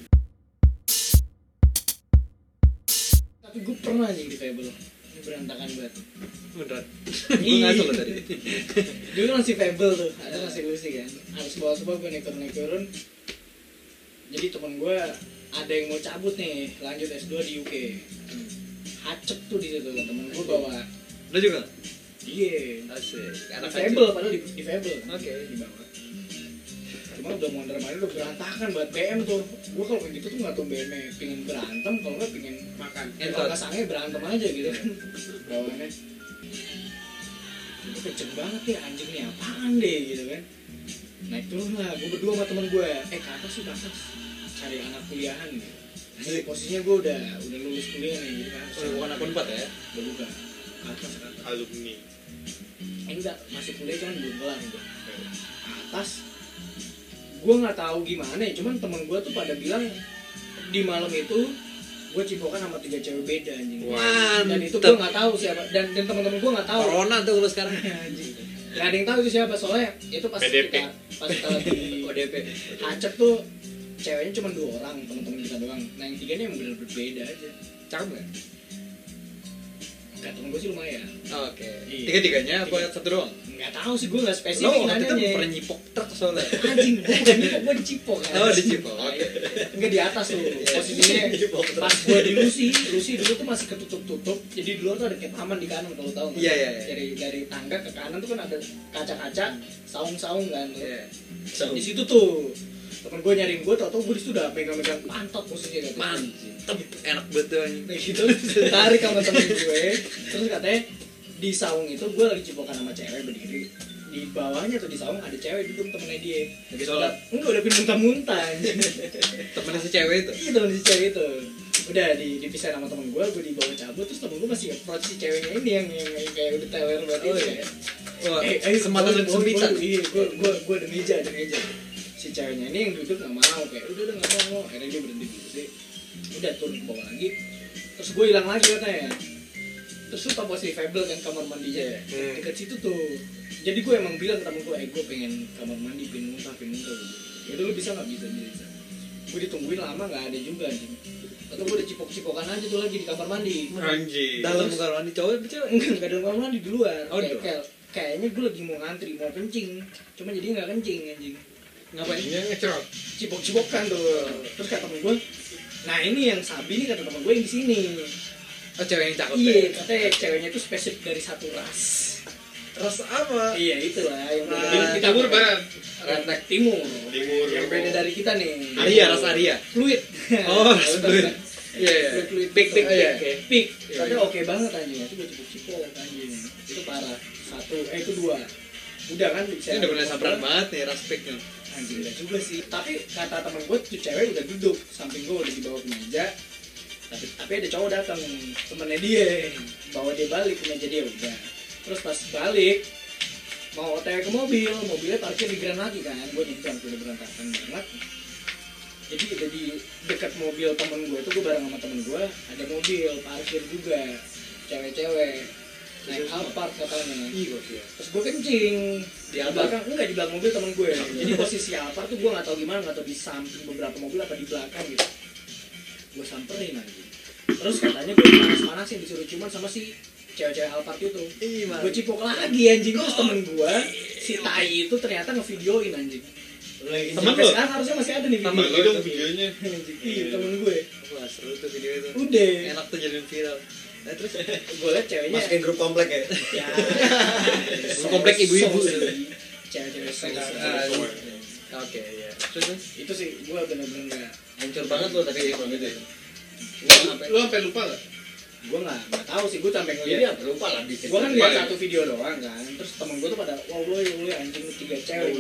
Tapi gue pernah aja di Fable. Ini berantakan banget. Beneran. Gue ngasih lo tadi. Dulu masih Fable tuh, ada masih lucy kan. Harus bawa gue naik turun. Jadi temen gue ada yang mau cabut nih, lanjut S2 di UK. Hacep tuh di situ temen gue bawa. Lo juga? Iya. Asik. Di Fable, padahal di Fable. Oke. Di bawah. Cuma udah mondar mandir udah berantakan buat BM tuh. Gue kalau kayak gitu tuh nggak tahu BM pingin berantem, kalau nggak pingin makan. Kalau nggak sange berantem aja gitu kan. Bawaannya. Itu kenceng banget ya anjing nih apaan deh gitu kan. Naik turun lah, gue berdua sama temen gue. Ke atas sih ke atas. Cari anak kuliahan gitu. Jadi posisinya gue udah lulus kuliah nih gitu kan. Oh, bukan akun 4 ya? Udah buka. Ke atas. Alumni. Enggak, masih kuliah cuman belum kelar gitu. Atas gue nggak tahu gimana ya, cuman temen gue tuh pada bilang di malam itu gue cipokan sama 3 cewek beda anjing. Dan itu gue nggak tahu siapa, dan teman-teman gue nggak tahu. Corona tuh lo sekarang. Anjing. Gak ada yang tahu itu siapa, soalnya itu pas PDP. kita lagi ODP. Acep tuh ceweknya cuma 2 orang, teman-teman kita doang. Nah yang 3 nya yang bener berbeda aja. Cakep nggak? Kayak temen gue sih lumayan. Oke. Iya. Tiga-tiganya apa satu doang? Nggak tahu sih, gue nggak Lo spesifik waktu itu nanyanya. pernah nyipok truk soalnya. Anjing, gue bukan nyipok, gue dicipok kan. Oh, dicipok. Oke. Enggak di atas tuh. Posisinya pas gue di Lucy dulu tuh masih ketutup-tutup. Jadi di luar tuh ada kayak taman di kanan kalau tahu. Iya, iya. Dari tangga ke kanan tuh kan ada kaca-kaca, saung-saung kan. Iya. Di situ tuh temen gue nyariin gue, tau gue disitu udah megang-megang pantat posisinya katanya. Mantep, enak banget tuh anjing. Kayak gitu tarik sama temen gue, terus katanya di saung itu gue lagi cipokan sama cewek berdiri, di bawahnya tuh di saung ada cewek duduk temennya dia. Lagi sholat. Enggak, udah muntah-muntah anjing. Temennya si cewek itu. Iya, temen si cewek itu udah dipisahin sama temen gue dibawa cabut, terus temen gue masih approach si ceweknya ini yang kayak udah teler banget itu ya. Wah, Ayo sematan dan sempitan. Iya, gue ada meja. Si ceweknya ini yang duduk nggak mau, kayak udah nggak mau. Akhirnya dia berhenti dulu sih. Udah turun ke bawah lagi. Terus gue hilang lagi katanya. Terus tuh posisi Fable kan kamar mandinya ya. Dekat situ tuh. Jadi gue emang bilang ke temen gue, gue pengen kamar mandi, pengen muntah. Ya udah lu bisa nggak? Bisa. Gue ditungguin lama nggak ada juga anjing. Atau gue udah cipok-cipokan aja tuh lagi di kamar mandi. Anjing. Dalam kamar mandi cowok apa cewek? Enggak dalam kamar mandi, di luar. Oh, di luar. Kayaknya gue lagi mau ngantri, mau kencing. Cuma jadi nggak kencing anjing. Ngapain? Ini ngecerot. Cipok-cipokan tuh. Terus kata temen gue, nah ini yang sabi nih kata temen gue yang di sini. Oh, cewek yang cakep. Iya, katanya ceweknya tuh spesifik dari satu ras. Ras apa? Iya itulah yang beda Nah, dari kita. Timur barat. Ras timur. Timur. Yang beda dari kita nih. Arya, ras Arya. Fluid. Oh, ras fluid. Iya, iya. Fluid. Pik. Iya. Oke. Pik. Iya, Tapi iya. oke banget anjing. Itu gue cipok-cipok anjing. Itu parah. Itu 2. Udah kan bisa. Ini udah mulai sabran banget nih ras piknya. Anjing enggak juga sih. Tapi kata temen gue tuh cewek udah duduk samping gue, udah dibawa ke meja. Tapi ada cowok datang, temennya dia bawa dia balik ke meja dia udah. Terus pas balik mau otw ke mobilnya parkir di Grand lagi kan. Gue nyebrang udah berantakan banget. Jadi udah di dekat mobil temen gue tuh, gue bareng sama temen gue ada mobil parkir juga, cewek-cewek naik Alphard katanya. Iya, gokil. Terus gue kencing di belakang, enggak di belakang mobil temen gue. Jadi posisi Alphard tuh gue nggak tahu gimana, nggak tahu di samping beberapa mobil apa di belakang gitu. Gue samperin aja. Terus katanya gue panas-panasin disuruh ciuman sama si cewek-cewek Alphard itu. Iya, Gue cipok lagi anjing. Terus temen gue si Tai itu ternyata ngevideoin anjing. Temen Sampai lo? sekarang harusnya masih ada nih Tambah video. lagi dong videonya. Anjing, iya temen gue. Wah, seru tuh video itu. Udah. Enak tuh jadiin viral. Nah, terus Gue liat ceweknya. Masukin grup komplek ya. Ya. Komplek ibu-ibu. Cewek-cewek Ah, so. oke, ya. Terus Itu sih gue bener-bener nggak. Hancur banget lo tapi kalau gitu ya. Lu sampai lupa gak? Gue nggak tahu sih, gue sampai Iya, ngeliat. lupa lah dikit. Gue kan Lupa lihat ya? satu video doang kan. Terus temen gue tuh pada wow lu anjing lu 3 cewek.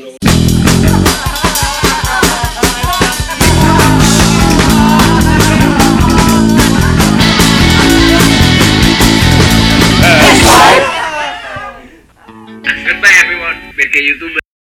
Goodbye everyone. Biar kayak YouTuber.